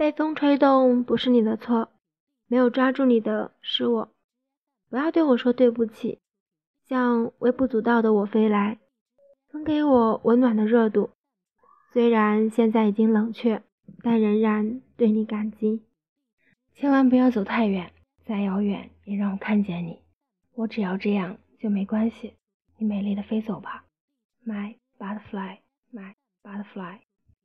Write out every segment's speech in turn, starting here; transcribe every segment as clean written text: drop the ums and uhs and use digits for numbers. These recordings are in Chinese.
被风吹动不是你的错，没有抓住你的是我。不要对我说对不起，向微不足道的我飞来，分给我温暖的热度。虽然现在已经冷却，但仍然对你感激。 千万不要走太远，再遥远也让我看见你。我只要这样就没关系，你美丽的飞走吧 My butterfly, my butterfly。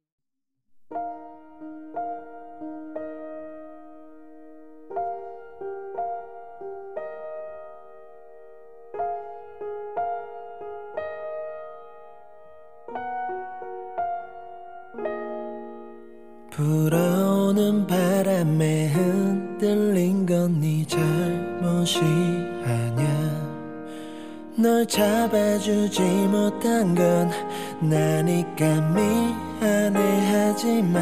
불어오는 바람에 흔들린 건 네 잘못이 아냐 널 잡아주지 못한 건 나니까 미안해 하지마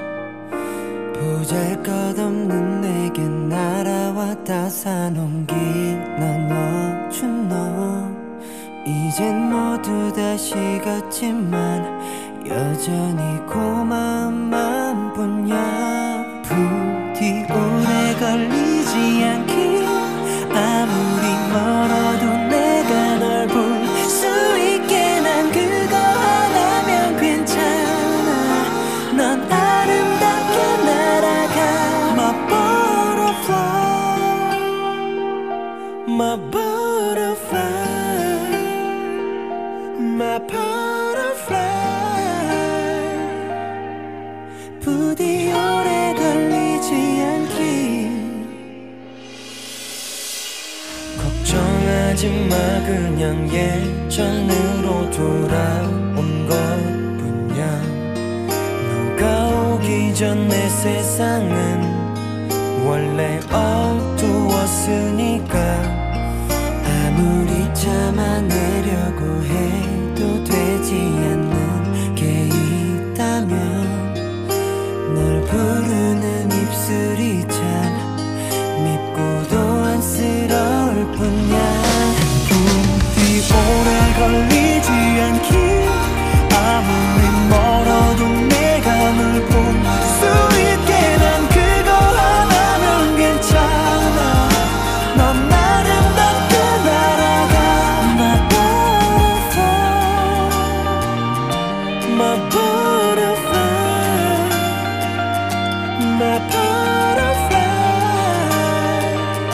보잘것없는 내겐 날아왔다 사놓긴 넌 멈춘 너 이젠 모두 다 식었지만 여전히 고마움만 뿐이야 부디 오래 걸리지 않길 아무리 멀어도 내가 널 볼 수 있게 난 그거 하나면 괜찮아 넌 아름답게 날아가 My butterfly My butterfly My butterfly 부디 오래 걸리지 않길 걱정하지마 그냥 예전으로 돌아온 것뿐이야 너가 오기 전 내 세상은 원래 어두웠으니까 아무리 참아내려고 해도 되지 않는 게 있다면 널 부르는 입술이 참 밉고도 안쓰러울 뿐이야 부디 오래 걸리지 않길 아무리 멀어도 내가 널 볼 수 있게 난 그거 하나면 괜찮아 넌 아름답게 날아가 My butterfly My butterfly My butterfly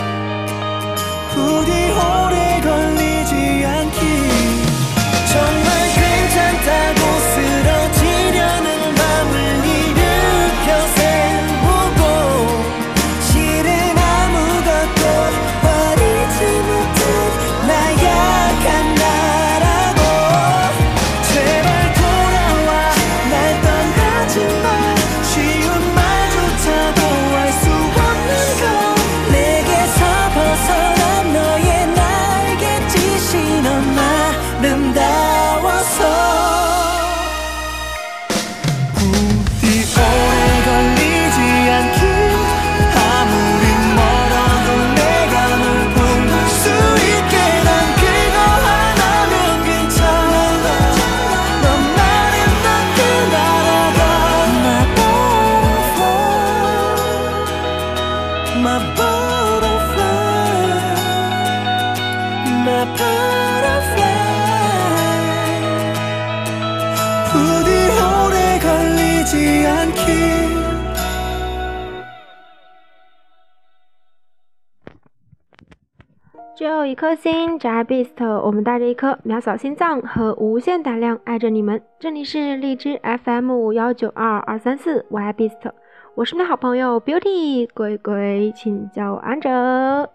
부디 오래 걸리지 않길 정말 괜찮다고 쓰러지려는 맘을 일으켜 세우고 실은 아무것도 버리지 못한 나약한 나라고 제발 돌아와 날 떠나지 마 쉬운 말조차도 알 수 없는 걸 내게서 벗어난 너의 날갯짓이 너무 아름다워서 부디 오래 걸리지 않길 아무리 멀어도 내가 널 볼 수 있게 난 그거 하나면 괜찮아 넌 아름답게 날아가 My butterfly My butterfly My butterfly 부디 오래 걸리지 않길 只有一颗心，宅 Beast， 我们带着一颗渺小心脏和无限胆量爱着你们。这里是荔枝 FM1922234 Y Beast， 我是你的好朋友 Beauty， 鬼鬼请叫我安哲。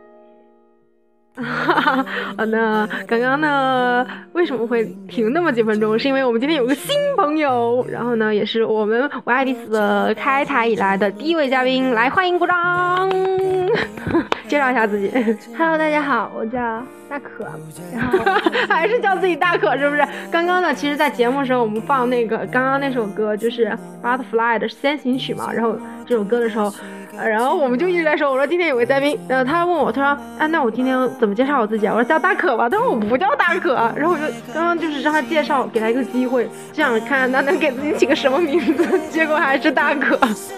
那刚刚呢为什么会停那么几分钟，是因为我们今天有个新朋友，然后呢也是我们我爱丽丝的开台以来的第一位嘉宾，来欢迎鼓掌介绍一下自己。 Hello， 大家好，我叫大可，然后还是叫自己大可是不是？刚刚呢，其实在节目的时候我们放那个刚刚那首歌就是 Butterfly 的先行曲嘛，然后这首歌的时候然后我们就一直在说，我说今天有个嘉宾，然后他问我，他说啊，那我今天怎么介绍我自己啊？我说叫大可吧，他说我不叫大可，然后我就刚刚就是让他介绍，给他一个机会，这样看他能给自己起个什么名字，结果还是大可。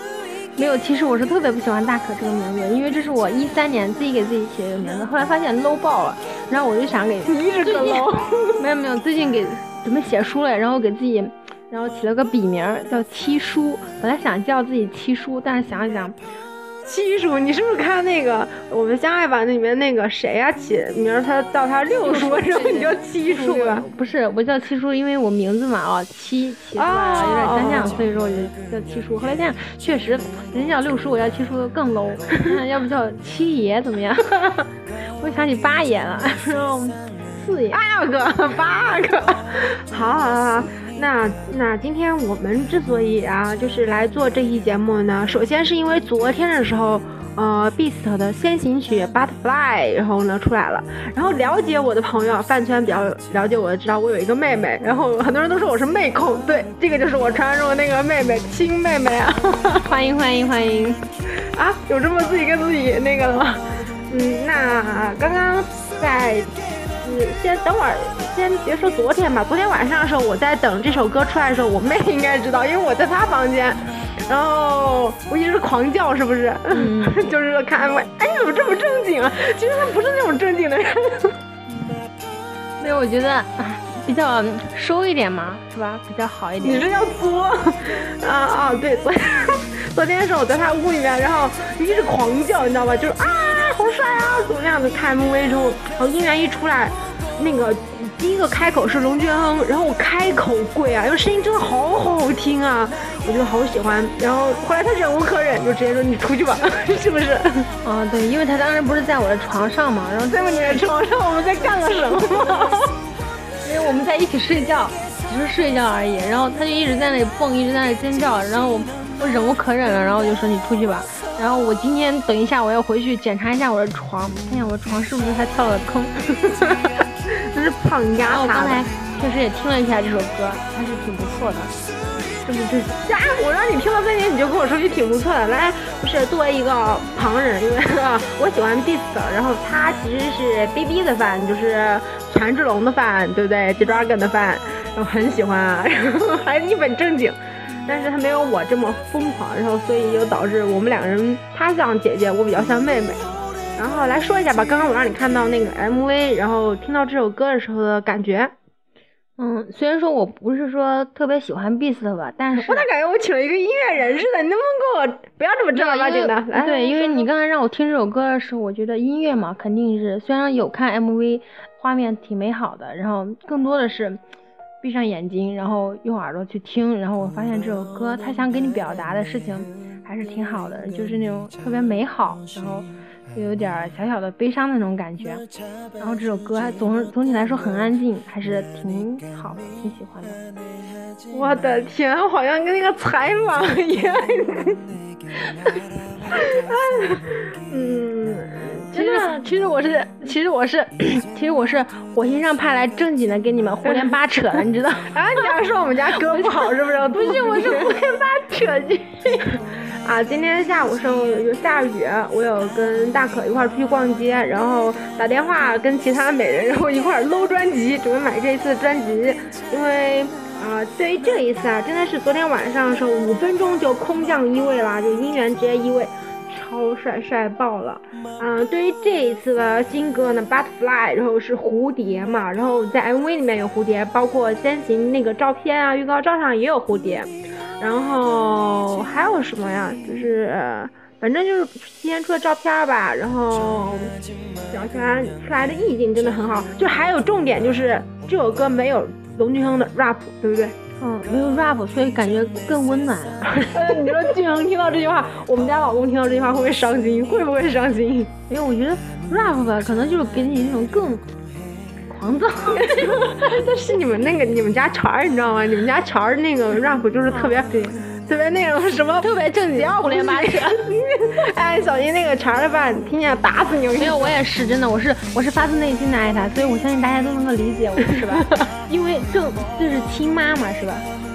没有，其实我是特别不喜欢大可这个名字，因为这是我13年自己给自己起的一个名字，后来发现 low 爆了，然后我就想给你一直更 low。 没有，最近准备写书了，然后给自己，然后起了个笔名叫七叔，本来想叫自己七叔，但是想一想。 七叔，你是不是看那个我们相爱吧那里面那个谁呀起名他叫他六叔，然后你叫七叔对吧？ 不是，我叫七叔，因为我名字嘛七出来了有点单向，所以说我就叫七叔。后来这样确实，人家叫六叔，我叫七叔更 low， 要不叫七爷怎么样？我想起八爷了，然后四爷八个，好。那今天我们之所以就是来做这期节目呢，首先是因为昨天的时候Beast 的先行曲 Butterfly 然后呢出来了，然后了解我的朋友饭圈比较了解我的知道我有一个妹妹，然后很多人都说我是妹控，对，这个就是我传说中的那个妹妹亲妹妹啊。 欢迎啊，有这么自己跟自己那个了吗？那刚刚在先等会儿，先别说昨天吧。昨天晚上的时候，我在等这首歌出来的时候，我妹应该知道，因为我在她房间，然后我一直狂叫，是不是？就是看 MV， 哎，你怎么这么正经啊？其实他不是那种正经的人。 没有，我觉得比较收一点嘛，是吧？比较好一点。 你这要作对，昨天的时候我在他屋里面，然后一直狂叫，你知道吧？就是好帅啊，怎么样的？看 MV 之后，然后音源一出来，那个第一个开口是龙俊亨，然后我开口跪啊，因为声音真的好听啊，我就好喜欢。然后后来他忍无可忍，就直接说你出去吧，是不是？ 对，因为他当时不是在我的床上嘛，然后在你的床上我们在干了什么？ 因为我们在一起睡觉，只是睡觉而已，然后他就一直在那里蹦，一直在那里尖叫，然后我忍无可忍了，然后我就说你出去吧。然后我今天等一下我要回去检查一下我的床，看一下我的床是不是他跳了坑。 真是胖丫头。 我刚才确实也听了一下这首歌，还是挺不错的。 是不是？我让你听到这里你就跟我说句挺不错的。来，不是作为一个旁人，因为我喜欢 Beast， 然后他其实是 BB 的饭，就是权志龙的饭，对不对 ？G-Dragon 的饭，然后很喜欢啊，然后还一本正经。但是他没有我这么疯狂，然后所以就导致我们两个人，他像姐姐，我比较像妹妹。然后来说一下吧，刚刚我让你看到那个 MV， 然后听到这首歌的时候的感觉。 虽然说我不是说特别喜欢 Beast 吧，但是我咋感觉我请了一个音乐人似的？你能不能给我不要这么正儿八经的？来， 对，因为你刚才让我听这首歌的时候，我觉得音乐嘛，肯定是虽然有看 MV， 画面挺美好的，然后更多的是闭上眼睛，然后用耳朵去听，然后我发现这首歌他想给你表达的事情还是挺好的，就是那种特别美好，然后又有点小小的悲伤的那种感觉。然后这首歌还总体来说很安静，还是挺好的，挺喜欢的。 我的天，好像跟那个采访一样。其实我是火星上派来正经的给你们胡言八扯的，你知道？你要说我们家歌不好是不是？ 不是，我是胡言八扯去。 今天下午时候有下雨，我有跟大可一块出去逛街，然后打电话跟其他美人，然后一块搂专辑，准备买这一次的专辑。因为对于这一次真的是昨天晚上的时候5分钟就空降1位了，就音源直接1位，超帅爆了。对于这一次的新歌呢 Butterfly， 然后是蝴蝶嘛，然后在 MV 里面有蝴蝶，包括先行那个照片预告照上也有蝴蝶。然后还有什么呀？就是反正就是今天出的照片吧，然后表现出来的意境真的很好。就还有重点就是这首歌没有龙俊亨的 rap， 对不对？ 没有 rap， 所以感觉更温暖了。 你说俊亨听到这句话，我们家老公听到这句话会不会伤心？会不会伤心？ 因为我觉得 rap 吧，可能就是给你那种更狂躁。 但是你们家潮儿，你知道吗？你们家潮儿那个 rap 就是特别特别那种什么特别正经，胡言八扯。 小心那个潮儿的吧，听见打死你！ 没有，我也是真的，我是发自内心的爱他，所以我相信大家都能够理解我，是吧？因为这是亲妈嘛，是吧？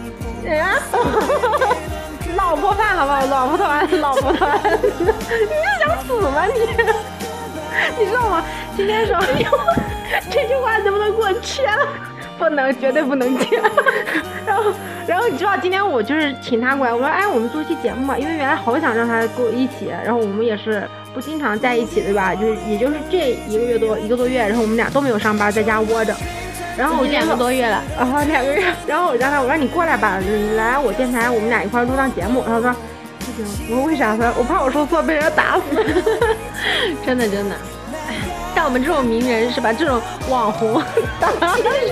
老婆饭好不好？老婆团，你是想死吗你知道吗？今天说这句话能不能给我圈了？ 不能，绝对不能接。然后你知道今天我就是请他过来，我说哎，我们做期节目嘛，因为原来好想让他跟我一起，然后我们也是不经常在一起，对吧？也就是这一个多月，然后我们俩都没有上班，在家窝着。然后我 2个多月了， 然后2个月，然后我让他，我说你过来吧，你来我电台，我们俩一块录档节目。然后他说不行，我说为啥？我怕我说错被人打死。 真的。像我们这种名人是吧？这种网红，当然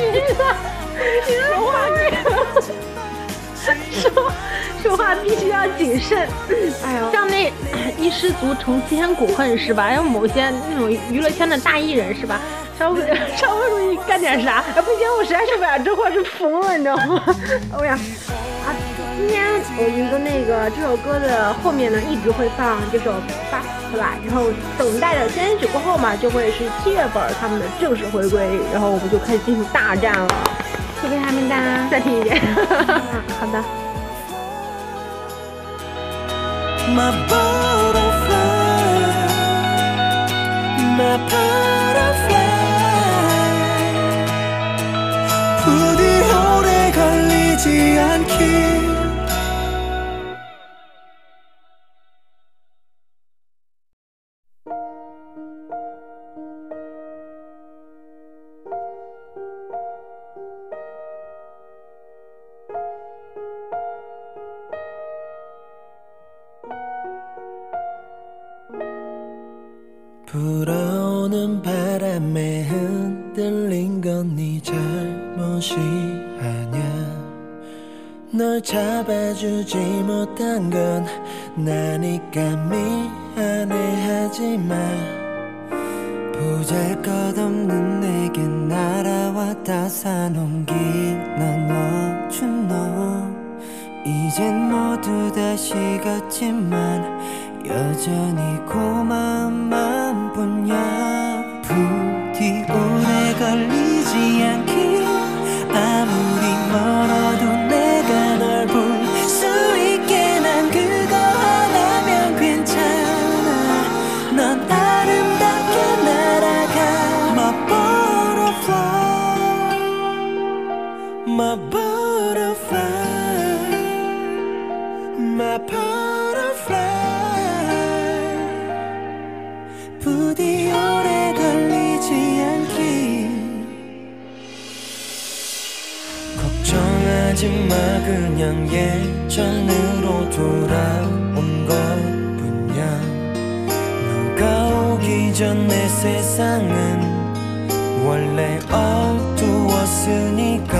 说话必须要谨慎。 哎呦， 像那一失足成千古恨是吧？还有某些那种娱乐圈的大艺人是吧？稍微容易干点啥， 不行，我实在受不了，这货是疯了，你知道吗？哎呀，今天我们的那个这首歌的后面呢，一直会放这首《Butterfly》，然后等待着先曲过后嘛，就会是7月份他们的正式回归，然后我们就开始进行大战了。 会不会还没单？ 再听一遍。 好的。 My butterfly, my butterfly. 부디 오래 걸리지 않길. 불어오는 바람에 흔들린 건 네 잘못이 아냐. 널 잡아주지 못한 건 나니까 미안해 하지마. 보잘것없는 내겐 날아왔다 산옮긴 넌 멈춘 너. 이젠 모두 다 식었지만 여전히 고마운 마음뿐이야. 부디 오래 걸리지 않길. 아무리 멀어도 내가 널 볼 수 있게 난 그거 하나면 괜찮아. 넌 아름답게 날아가. My butterfly, my butterfly, my butterfly. 부디 오래 걸리지 않길. 걱정하지마 그냥 예전으로 돌아온 것뿐이야. 너가 오기 전 내 세상은 원래 어두웠으니까.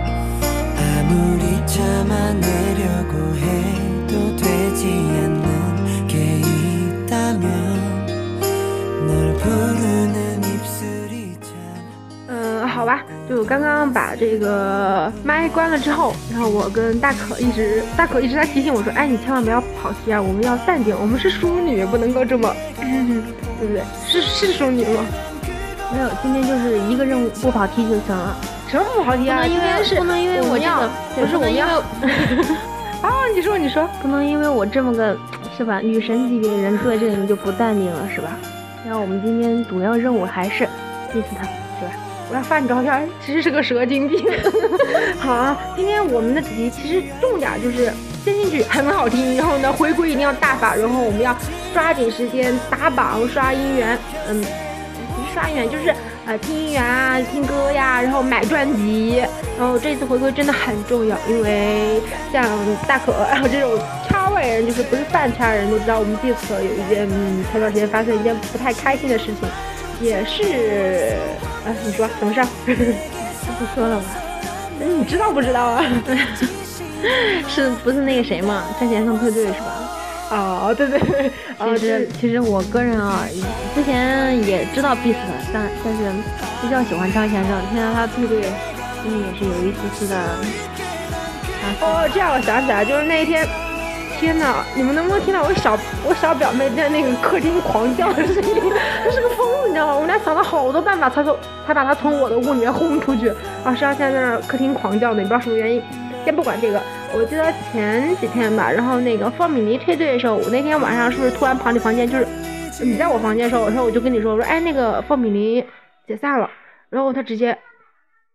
아무리 참아내려고 해도 되지 않는 게 있다면 널 부르는 입술이 참. 好吧，就刚刚把这个麦关了之后，然后我跟大可一直在提醒我说，哎，你千万不要跑题啊，我们要淡定，我们是淑女，不能够这么，对不对？是淑女吗？ 没有，今天就是一个任务不跑题就行了。 什么不跑题啊？ 不能因为我这个， 不是我们要。啊，你说， 不能因为我这么个是吧女神级别的人坐在这里你就不淡定了是吧？然后我们今天主要任务还是 diss 他，是吧？ 我要发你照片，其实是个蛇精病。好啊，今天我们的主题其实重点就是先进去很好听，然后呢回归一定要大发，然后我们要抓紧时间打榜刷音源，不是刷音源就是听音源啊，听歌呀，然后买专辑。然后这次回归真的很重要，因为像大可然后这种圈外人，就是不是饭圈人都知道，我们这次有一件前段时间发生一件不太开心的事情，也是你说什么事儿？ 不说了吧？ 你知道不知道啊？ 是不是那个谁嘛？张先生退队是吧？ 哦，对， 其实我个人啊，之前也知道 Beast 的，但是比较喜欢张先生，听到他退队，心里也是有一丝丝的。 哦，这样我想起来，就是那一天，天哪，你们能不能听到我小表妹在那个客厅狂叫的声音？她是个疯子，你知道吗？我们俩想了好多办法才把她从我的屋里面轰出去。啊，实际上现在在那客厅狂叫呢，也不知道什么原因。先不管这个，我记得前几天吧，然后那个方米妮退队的时候，我那天晚上是不是突然跑你房间？就是你在我房间的时候，我就跟你说，哎，那个方米妮解散了，然后他直接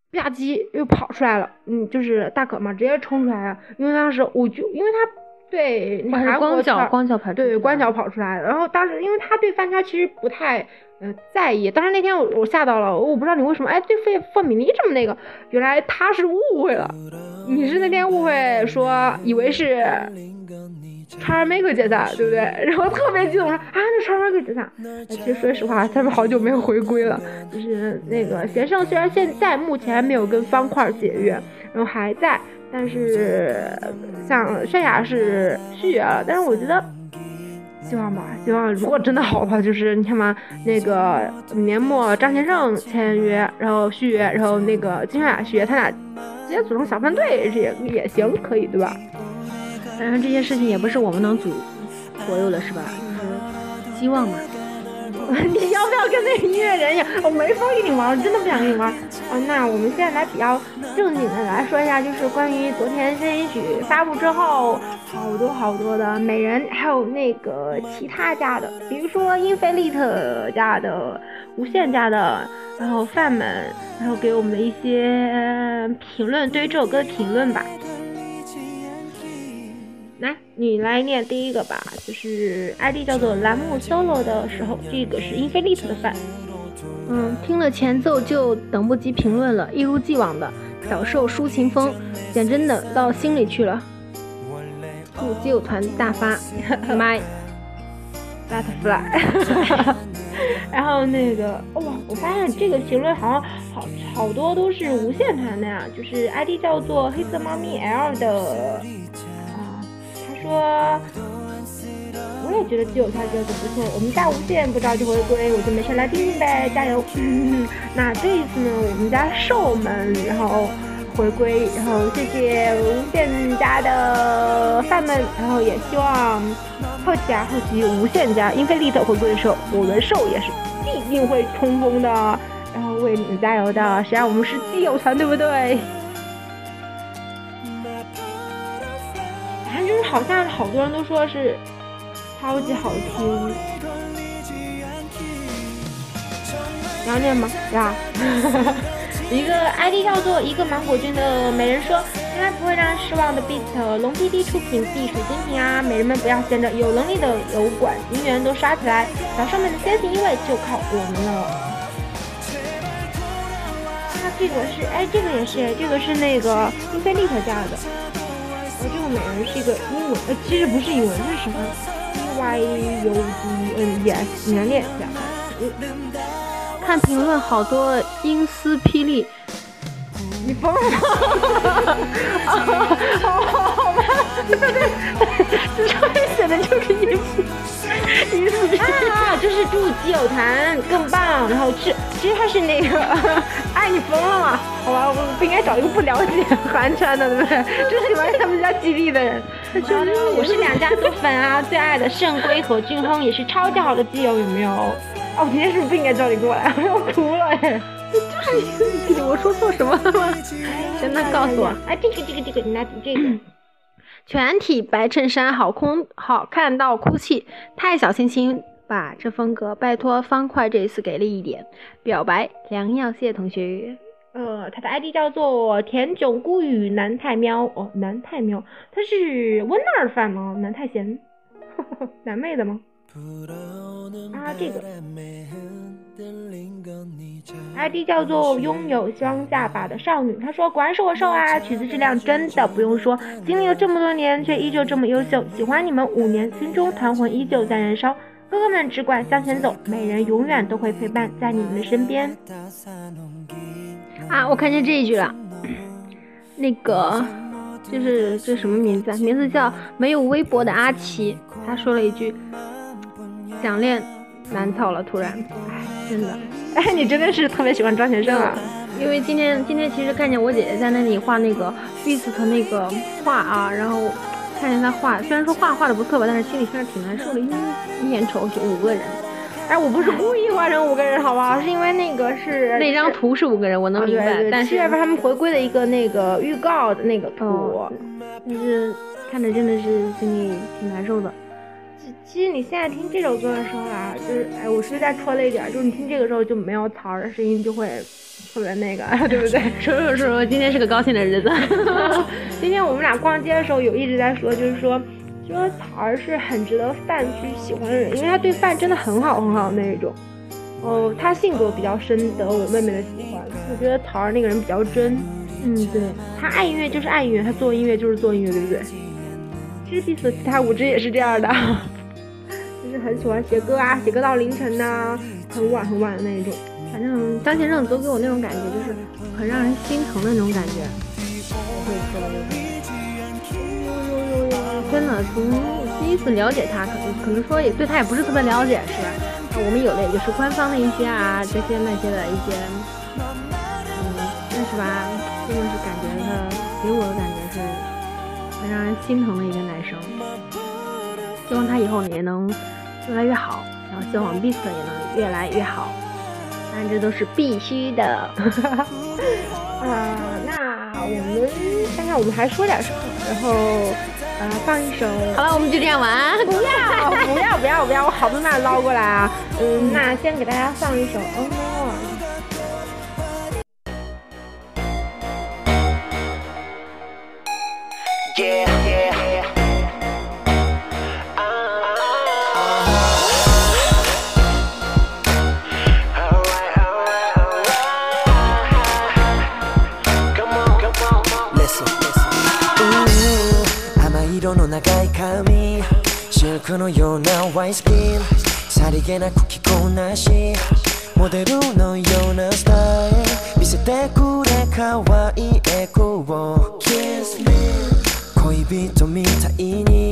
吧唧又跑出来了，就是大可嘛，直接冲出来了。因为当时因为他对韩国光脚跑出来， 对，光脚跑出来。然后当时因为他对饭圈其实不太在意，当时那天我吓到了，我不知道你为什么对范米妮这么那个，原来他是误会了，你是那天误会说以为是Charmaker 解散，对不对？然后特别激动说啊，那 Charmaker 解散。其实说实话，他们好久没有回归了。就是那个贤胜虽然现在目前没有跟方块解约，然后还在，但是像泫雅是续约了。但是我觉得希望如果真的好的话，就是你看嘛，那个年末张贤胜签约，然后续约，然后那个金泫雅续约，他俩直接组成小分队也行，可以对吧？ 当然这些事情也不是我们能左右的，是吧？就是希望嘛。 你要不要跟那个音乐人一样？我没法跟你玩，真的不想跟你玩。那我们现在来比较正经的来说一下，就是关于昨天先行曲发布之后，好多的美人，还有那个其他家的，比如说英菲利特家的、无限家的，然后饭们，然后给我们的一些评论，对于这首歌的评论吧。来，你来念第一个吧，就是 ID 叫做栏目 solo 的时候，这个是英菲利特的饭。 听了前奏就等不及评论了，一如既往的小受抒情风，讲真的到心里去了。祝基友团大发，My Butterfly。然后那个我发现这个评论好多都是无限团的呀，就是 ID 叫做黑色猫咪 L 的。说我也觉得基友团这个不错，我们家无限不着急回归，我就没事来听听呗，加油。那这一次呢，我们家兽们然后回归，然后谢谢无限家的饭们，然后也希望后期无限家英菲利特回归的时候，我们兽也是必定会冲锋的，然后为你们加油的，谁让我们是基友团，对不对？就是好像好多人都说是超级好听，你要念吗？呀，一个 ID 叫做一个芒果君的美人说，从来不会让人失望的 Beat 龙 PD 出品必属精品啊！美人们不要闲着，有能力的油管银元都刷起来，小生们的先行一位就靠我们了。这个是这个也是这个是那个英菲利特家的。这个美人是一个英文，其实不是英文，这是什么 YUDNES， 你来念一下。 看评论好多英丝霹雳， 你疯了吗？好吧，对，这上面写的就是英丝霹雳啊，就是祝基友团更棒，然后其实他是那个你疯了吗？好吧，我不应该找一个不了解韩圈的，对不对？这是完全他们家激励的人。我是两家都粉啊，最爱的圣圭和俊亨也是超级好的基友，有没有？我今天是不是不应该叫你过来？我要哭了就是我说错什么了吗？真的告诉我。 这个，你拿这个。 全体白衬衫好看到哭泣，太小清新吧这风格，拜托方块这一次给力一点。表白梁耀谢同学， 他的 ID 叫做田囧孤语南太喵，南太喵，他是温那儿饭吗？南太贤，南妹的吗？这个 ID 叫做拥有双下巴的少女，她说果然是我瘦啊，曲子质量真的不用说，经历了这么多年却依旧这么优秀，喜欢你们5年，心中团魂依旧在燃烧，哥哥们只管向前走，美人永远都会陪伴在你们的身边。 我看见这一句了，那个就是这什么名字？名字叫没有微博的阿奇，他说了一句想念南草了，突然，真的， 你真的是特别喜欢张贤胜啊！ 因为今天其实看见我姐姐在那里画那个 Beast 的那个画啊，然后看见她画，虽然说画的不错吧，但是心里确实挺难受的，一眼瞅就5个人。 我不是故意画成5个人，好不好？是因为那个是那张图是5个人，我能明白。 对，但是7月份他们回归的一个那个预告的那个图， 但是看着真的是心里挺难受的。 其实你现在听这首歌的时候啊，就是我是不是再戳了一点？就是你听这个时候就没有曹儿的声音，就会特别那个，对不对？ 说，今天是个高兴的日子。 今天我们俩逛街的时候有一直在说，就是说曹儿是很值得范去喜欢的人，因为他对范真的很好很好的那一种。他性格比较深，得我妹妹的喜欢。我觉得曹儿那个人比较真。 对， 他爱音乐就是爱音乐，他做音乐就是做音乐，对不对？其实 Beast 的其他5支也是这样的，就是很喜欢写歌啊，写歌到凌晨呐，很晚很晚的那一种。 反正张贤正都给我那种感觉，就是很让人心疼的那种感觉。我会说的真的，从第一次了解他，可能说也对他也不是特别了解，是吧？我们有的也就是官方的一些啊，这些那些的一些，但是吧，真的是感觉他给我的感觉是很让人心疼的一个男生。希望他以后也能越来越好，然后希望 Beast 也能越来越好，当然这都是必须的。 那我们看看我们还说点什么，然后放一首。 好了，我们就这样玩。 不要，我好不容易捞过来啊。那先给大家放一首 Oh No。 色の長い髪シルクのようなワインスキンさりげなく着こなしモデルのようなスタイル見せてくれ可愛いエコを Kiss me 恋人みたいに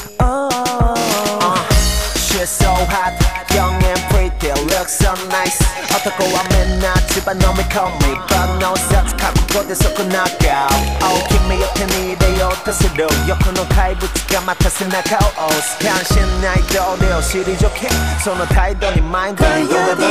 She's so hot young and pretty look so nice 男はみんな千葉飲み込み万能札覚悟で即ナックアウト君を手に入れようとする欲の怪物がまた背中を押す関心ない同僚退けその態度にマインドに呼べば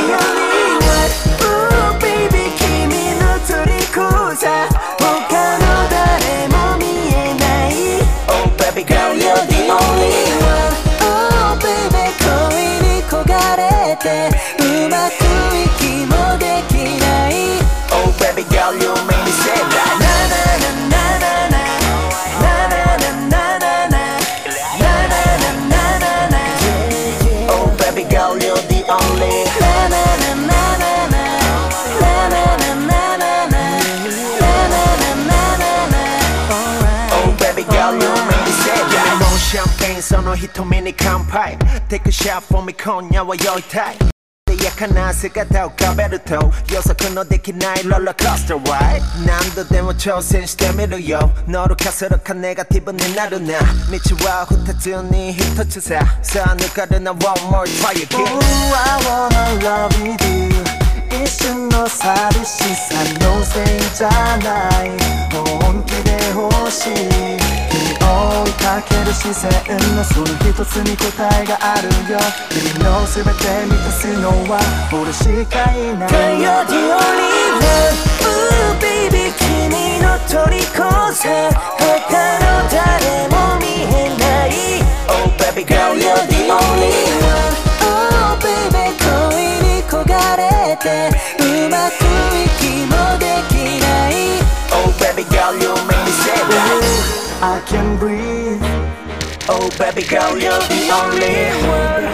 Ooh baby 君の虜さ他の誰も見えない Oh baby girl you're the only one Oh baby 恋に焦がれてうまく息もできない Oh baby girl you make me say that Na na na na na na Na na na na na na Na na na na na na Oh baby girl you're the only Na na na na na na Na na na na na na Na na na na na na Oh baby girl you make me say that Give me more champagne その瞳に乾杯 Take a shot for me 今夜は酔いたい艶やかな姿を浮かべると予測のできないローラーコースター Ride 何度でも挑戦してみるよ乗るかするかネガティブになるな道は二つに一つささあ抜かるな One more try again Oh I wanna love you 一瞬の寂しさのせいじゃない本気で欲しい追いかける視線のその一つに答えがあるよ君の全て満たすのは俺しかいない Girl you're the only one Ooh baby 君の虜さ他の誰も見えない Oh baby girl you're the only one Oh baby 恋に焦がれてうまく息もできない Oh baby girl you make me say that I can breathe Oh baby girl you're the only one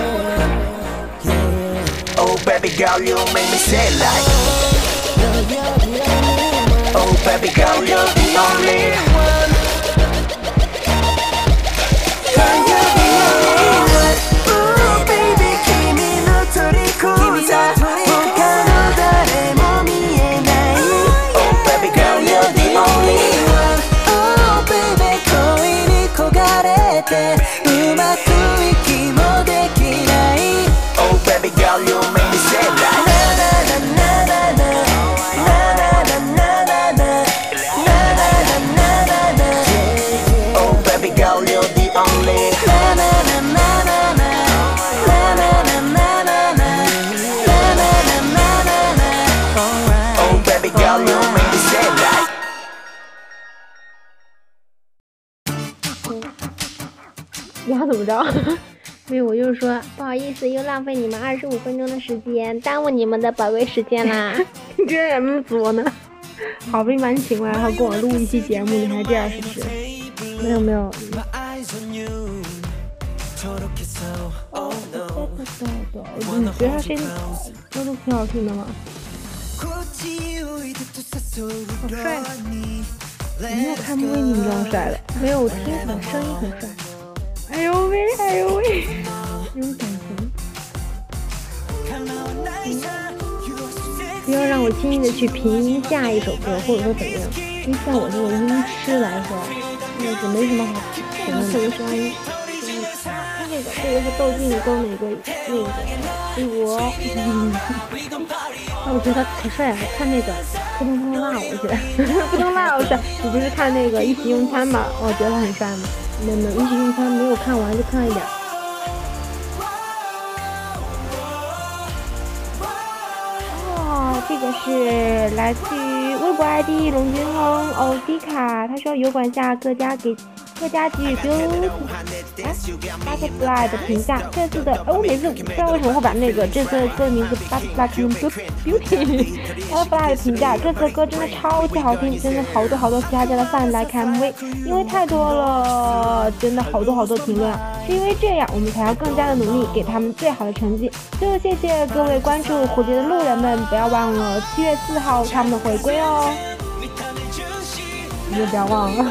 yeah. Oh baby girl you make me say like Oh baby girl you're the only one Girl you're the only one Ooh baby 君の虜さ他の誰も見えない Oh baby girl you're the only one Oh baby 恋に焦がれてうまく息もできない Oh baby girl you make me say that Na na na na na Na na na na na Na na na na na Oh baby girl you're the only Na na na na na Na na na na na Na na na na na Oh baby girl you make me say that 你要怎么着？ 没有，我就是说不好意思，又浪费你们25分钟的时间，耽误你们的宝贵时间啦。 你这人么作呢？好不容易把你请过来，然后跟我录一期节目，你还这样是不是？ 没有没有。 你觉得他声音都挺好听的吗？好帅！我没有看过你这样帅的， 没有，我听起来声音很帅。 哎呦喂，哎呦喂， 那种感情。 不要让我轻易的去评价一首歌，或者说怎么样，因为像我这种音痴来说，那就没什么好评论的。什么声音？这个是窦靖跟那个C国， 我觉得他可帅了。看那个扑通扑通辣，我觉得扑通辣我帅。你不是看那个一起用餐吗？我觉得他很帅吗？ 没有，一起用餐没有看完，就看了一点。这个是来自于微博 ID 龙君亨欧迪卡，他说油管下各家给予 Butterfly 的评价。这次的我每次不知道为什么会把这次的歌名字 Butterfly 看成 Beauty Butterfly 的评价。这次的歌真的超级好听，真的好多其他家的饭来看 MV， 因为太多了，真的好多评论啊。是因为这样，我们才要更加的努力，给他们最好的成绩。最后谢谢各位关注蝴蝶的路人们，不要忘了7月4号他们的回归哦， 你也不要忘了。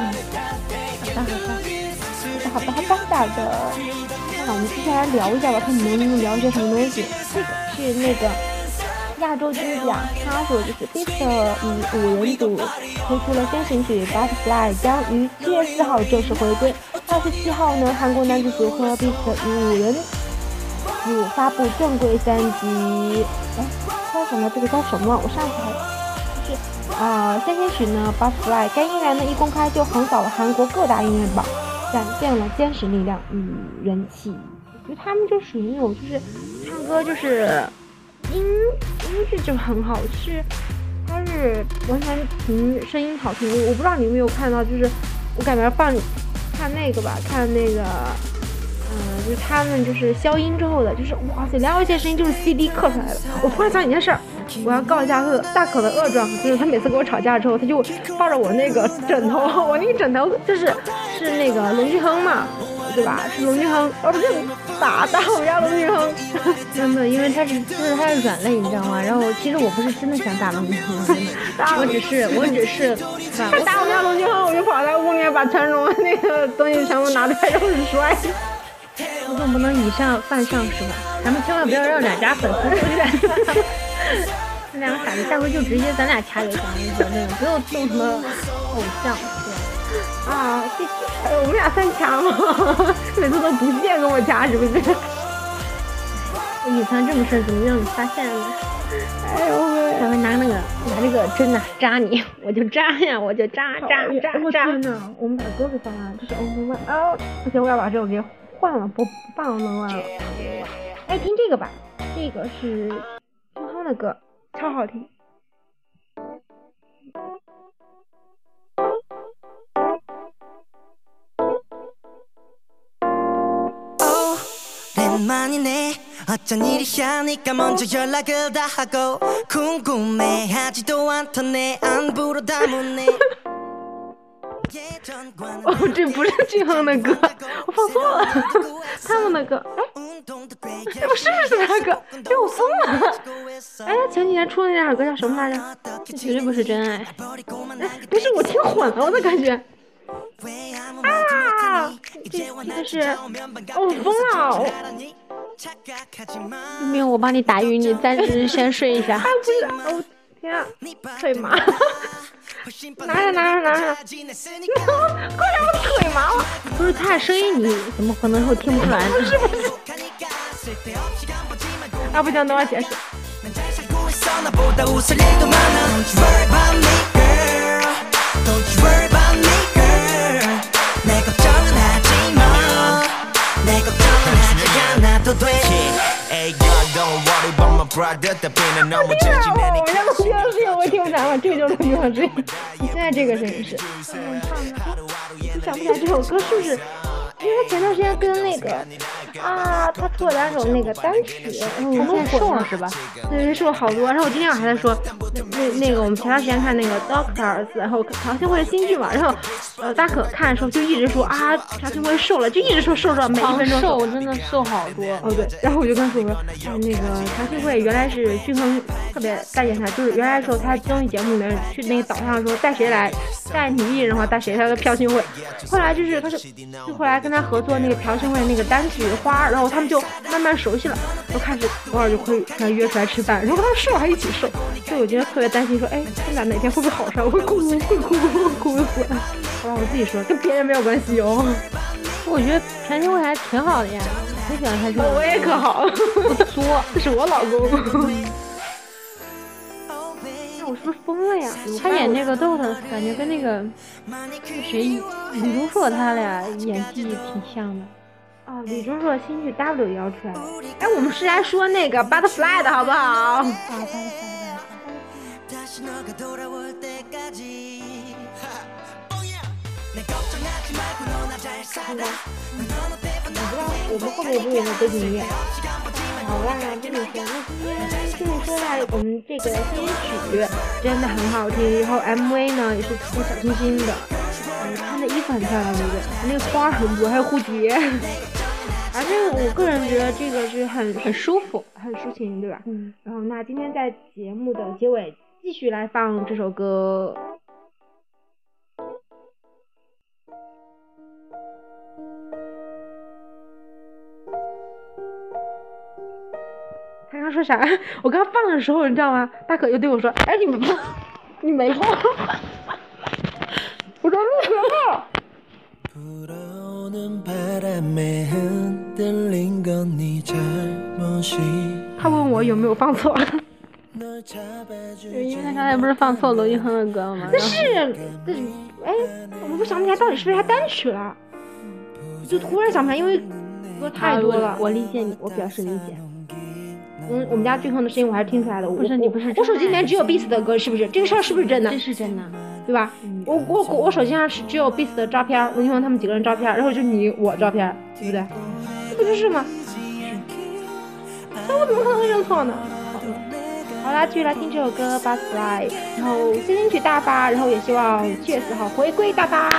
好的。那我们接下来聊一下吧，看你们能聊些什么东西。这个是那个亚洲金奖，他说就是 Beast 以5人组推出了先行曲 Butterfly， 将于7月4号正式回归。27号呢，韩国男子组合 Beast 以5人组发布正规3辑。叫什么？这个叫什么？我上次还就是先行曲呢 Butterfly 该音源呢一公开就横扫了韩国各大音乐榜，展现了坚实力量与人气。我觉得他们就属于那种就是唱歌就是音质就很好，是他是完全凭声音好听。我不知道你有没有看到，就是我感觉看那个吧，看那个就是他们就是消音之后的，就是哇塞，聊一些声音就是 CD 刻出来的。我突然想起一件事儿，我要告一下大可的恶状，就是他每次跟我吵架之后，他就抱着我那个枕头，我那个枕头是那个龙俊亨嘛，对吧？是龙俊亨，我就打我们家龙俊亨。真的，因为他是软肋，你知道吗？然后其实我不是真的想打龙俊亨，我只是他打我们家龙俊亨，我就跑在屋里面把全龙那个东西全部拿出来，然后摔。 我总不能以上犯上是吧？咱们千万不要让两家粉丝出现。那两个傻子，下回就直接咱俩掐就行了，真的不用动什么偶像，对啊，谢谢。我们俩算掐吗？每次都不屑跟我掐，是不是？ 我隐藏这么深，怎么让你发现了？ 哎呦喂！ 下回拿这个针呐扎你，我就扎呀，我就扎。 我天哪！我们把歌给放完了，这是 Only One 啊！不行，我要把这首给换了，不放 Only One 了。 哎，听这个吧，这个是俊亨的歌，超好听。 哦，这不是俊亨的歌，我放错了，他们的歌。哎，这不是他的歌，哎，我疯了。哎，前几年出的那首歌叫什么来着？ 这绝对不是真爱。 哎，不是，我听混了，我的感觉。啊，这是，我疯了。 没有，我帮你打晕，你暂时先睡一下。 不是，哦天啊，腿麻。拿着，快点，我腿麻了。 不是他的声音，你怎么可能会听不出来呢？ 不是。啊，不行，等我解释。我家龙俊亨声音我听不着了，这个就是龙俊亨声音。你现在这个声音是，你想不起来这首歌是不是因为他前段时间跟那个他出了2首那个单曲，然后现在瘦了是吧？ 对，瘦了好多。然后我今天晚上还在说，那个我们前段时间看那个 Doctors， 然后朴信惠的新剧嘛，然后大可看的时候就一直说朴信惠瘦了，就一直说瘦每1分钟瘦，真的瘦好多。 哦对，然后我就跟他说，那个朴信惠原来是均衡特别待见他，就是原来的时候他综艺节目里面去那个岛上说带谁来，带女艺人的话带谁，他说朴信惠。后来就是他就后来跟他合作那个朴信惠那个单曲花，然后他们就慢慢熟悉了，都开始偶尔就会约出来吃饭，然后他们瘦还一起瘦，所以我觉得特别担心说，哎，他们俩哪天会不会好上？我会哭死。好吧，我自己说，跟别人没有关系哦。 我觉得朴信惠还挺好的呀，很喜欢他这种。 我也可好， 不作， 这是我老公。我是不是疯了呀？ 他演那个 Doctor 感觉跟那个谁李钟硕他俩演技挺像的。 李钟硕的新剧 W 也要出来了。哎，我们是来说那个 Butterfly 的好不好我们后面不是有个背景音乐？好啦，这里说，那今天说到我们这个新曲真的很好听，然后 MV 呢也是特别小清新的，穿的衣服很漂亮，对不对？那个花很多，还有蝴蝶，反正我个人觉得这个是很舒服，很抒情，对吧？然后那今天在节目的结尾继续来放这首歌。他刚说啥？我刚放的时候，你知道吗？大可就对我说：“哎，你没放。”我说：“录了。”他问我有没有放错， 因为他刚才不是放错罗云亨的歌了吗？ 哎，我不想不起来到底是不是他单曲了，就突然想不起来，因为歌太多了。 我理解你，我表示理解。 我们家均衡的声音我还是听出来的。 不是你不是， 我手机里面只有 Beast 的歌，是不是？这个事儿是不是真的？ 这是真的， 对吧？我手机上是只有 Beast 的照片，罗云亨他们几个人照片，然后就你我照片，对不对？这不就是吗？那我怎么可能会认错呢？好啦，继续来听这首歌 Butterfly， 然后新金曲大发，然后也希望7月4号回归大发。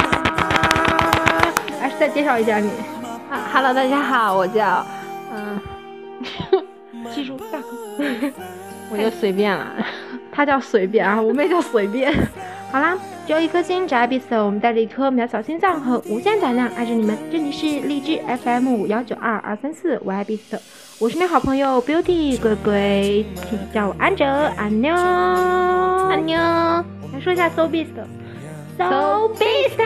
还是再介绍一下你。 Hello， 大家好，我叫记住大哥， 我就随便了， 他叫随便啊，我们也叫随便。好啦，只有一颗心，只爱彼此，我们带着一颗渺小心脏和无限胆量爱着你们。这里是荔枝 FM 519234，我爱彼此。我是你好朋友 Beauty 龟龟，请叫我安哲，安妞，安妞。来说一下 So Beast，So Beast。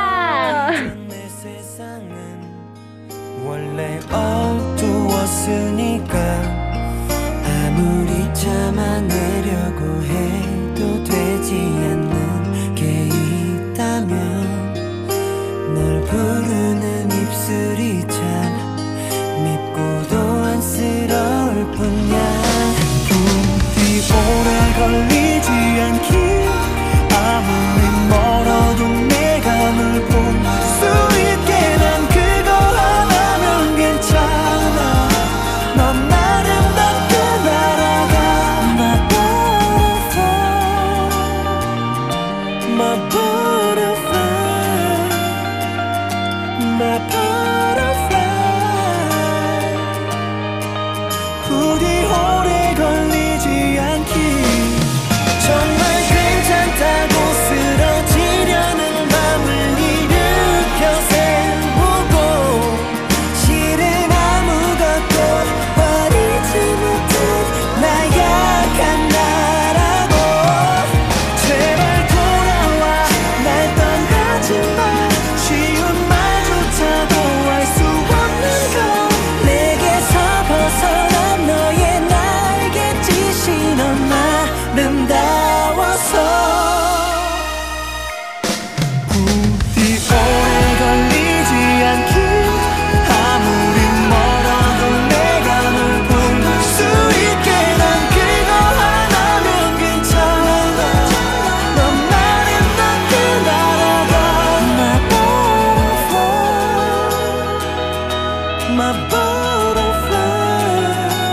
원래 어두웠으니까 아무리 참아내려고 해도 되지 않는 게 있다면 널 부르는 입술이 참 밉고도 안쓰러울 뿐이야 부디 오래 걸리지 않길 아무리 멀어도 내가 널 볼 수 있게 난 그거 하나면 괜찮아 My butterfly,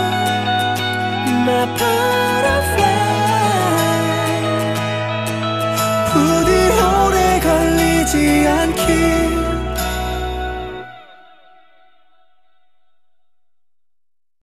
my butterfly 부디 오래 걸리지 않길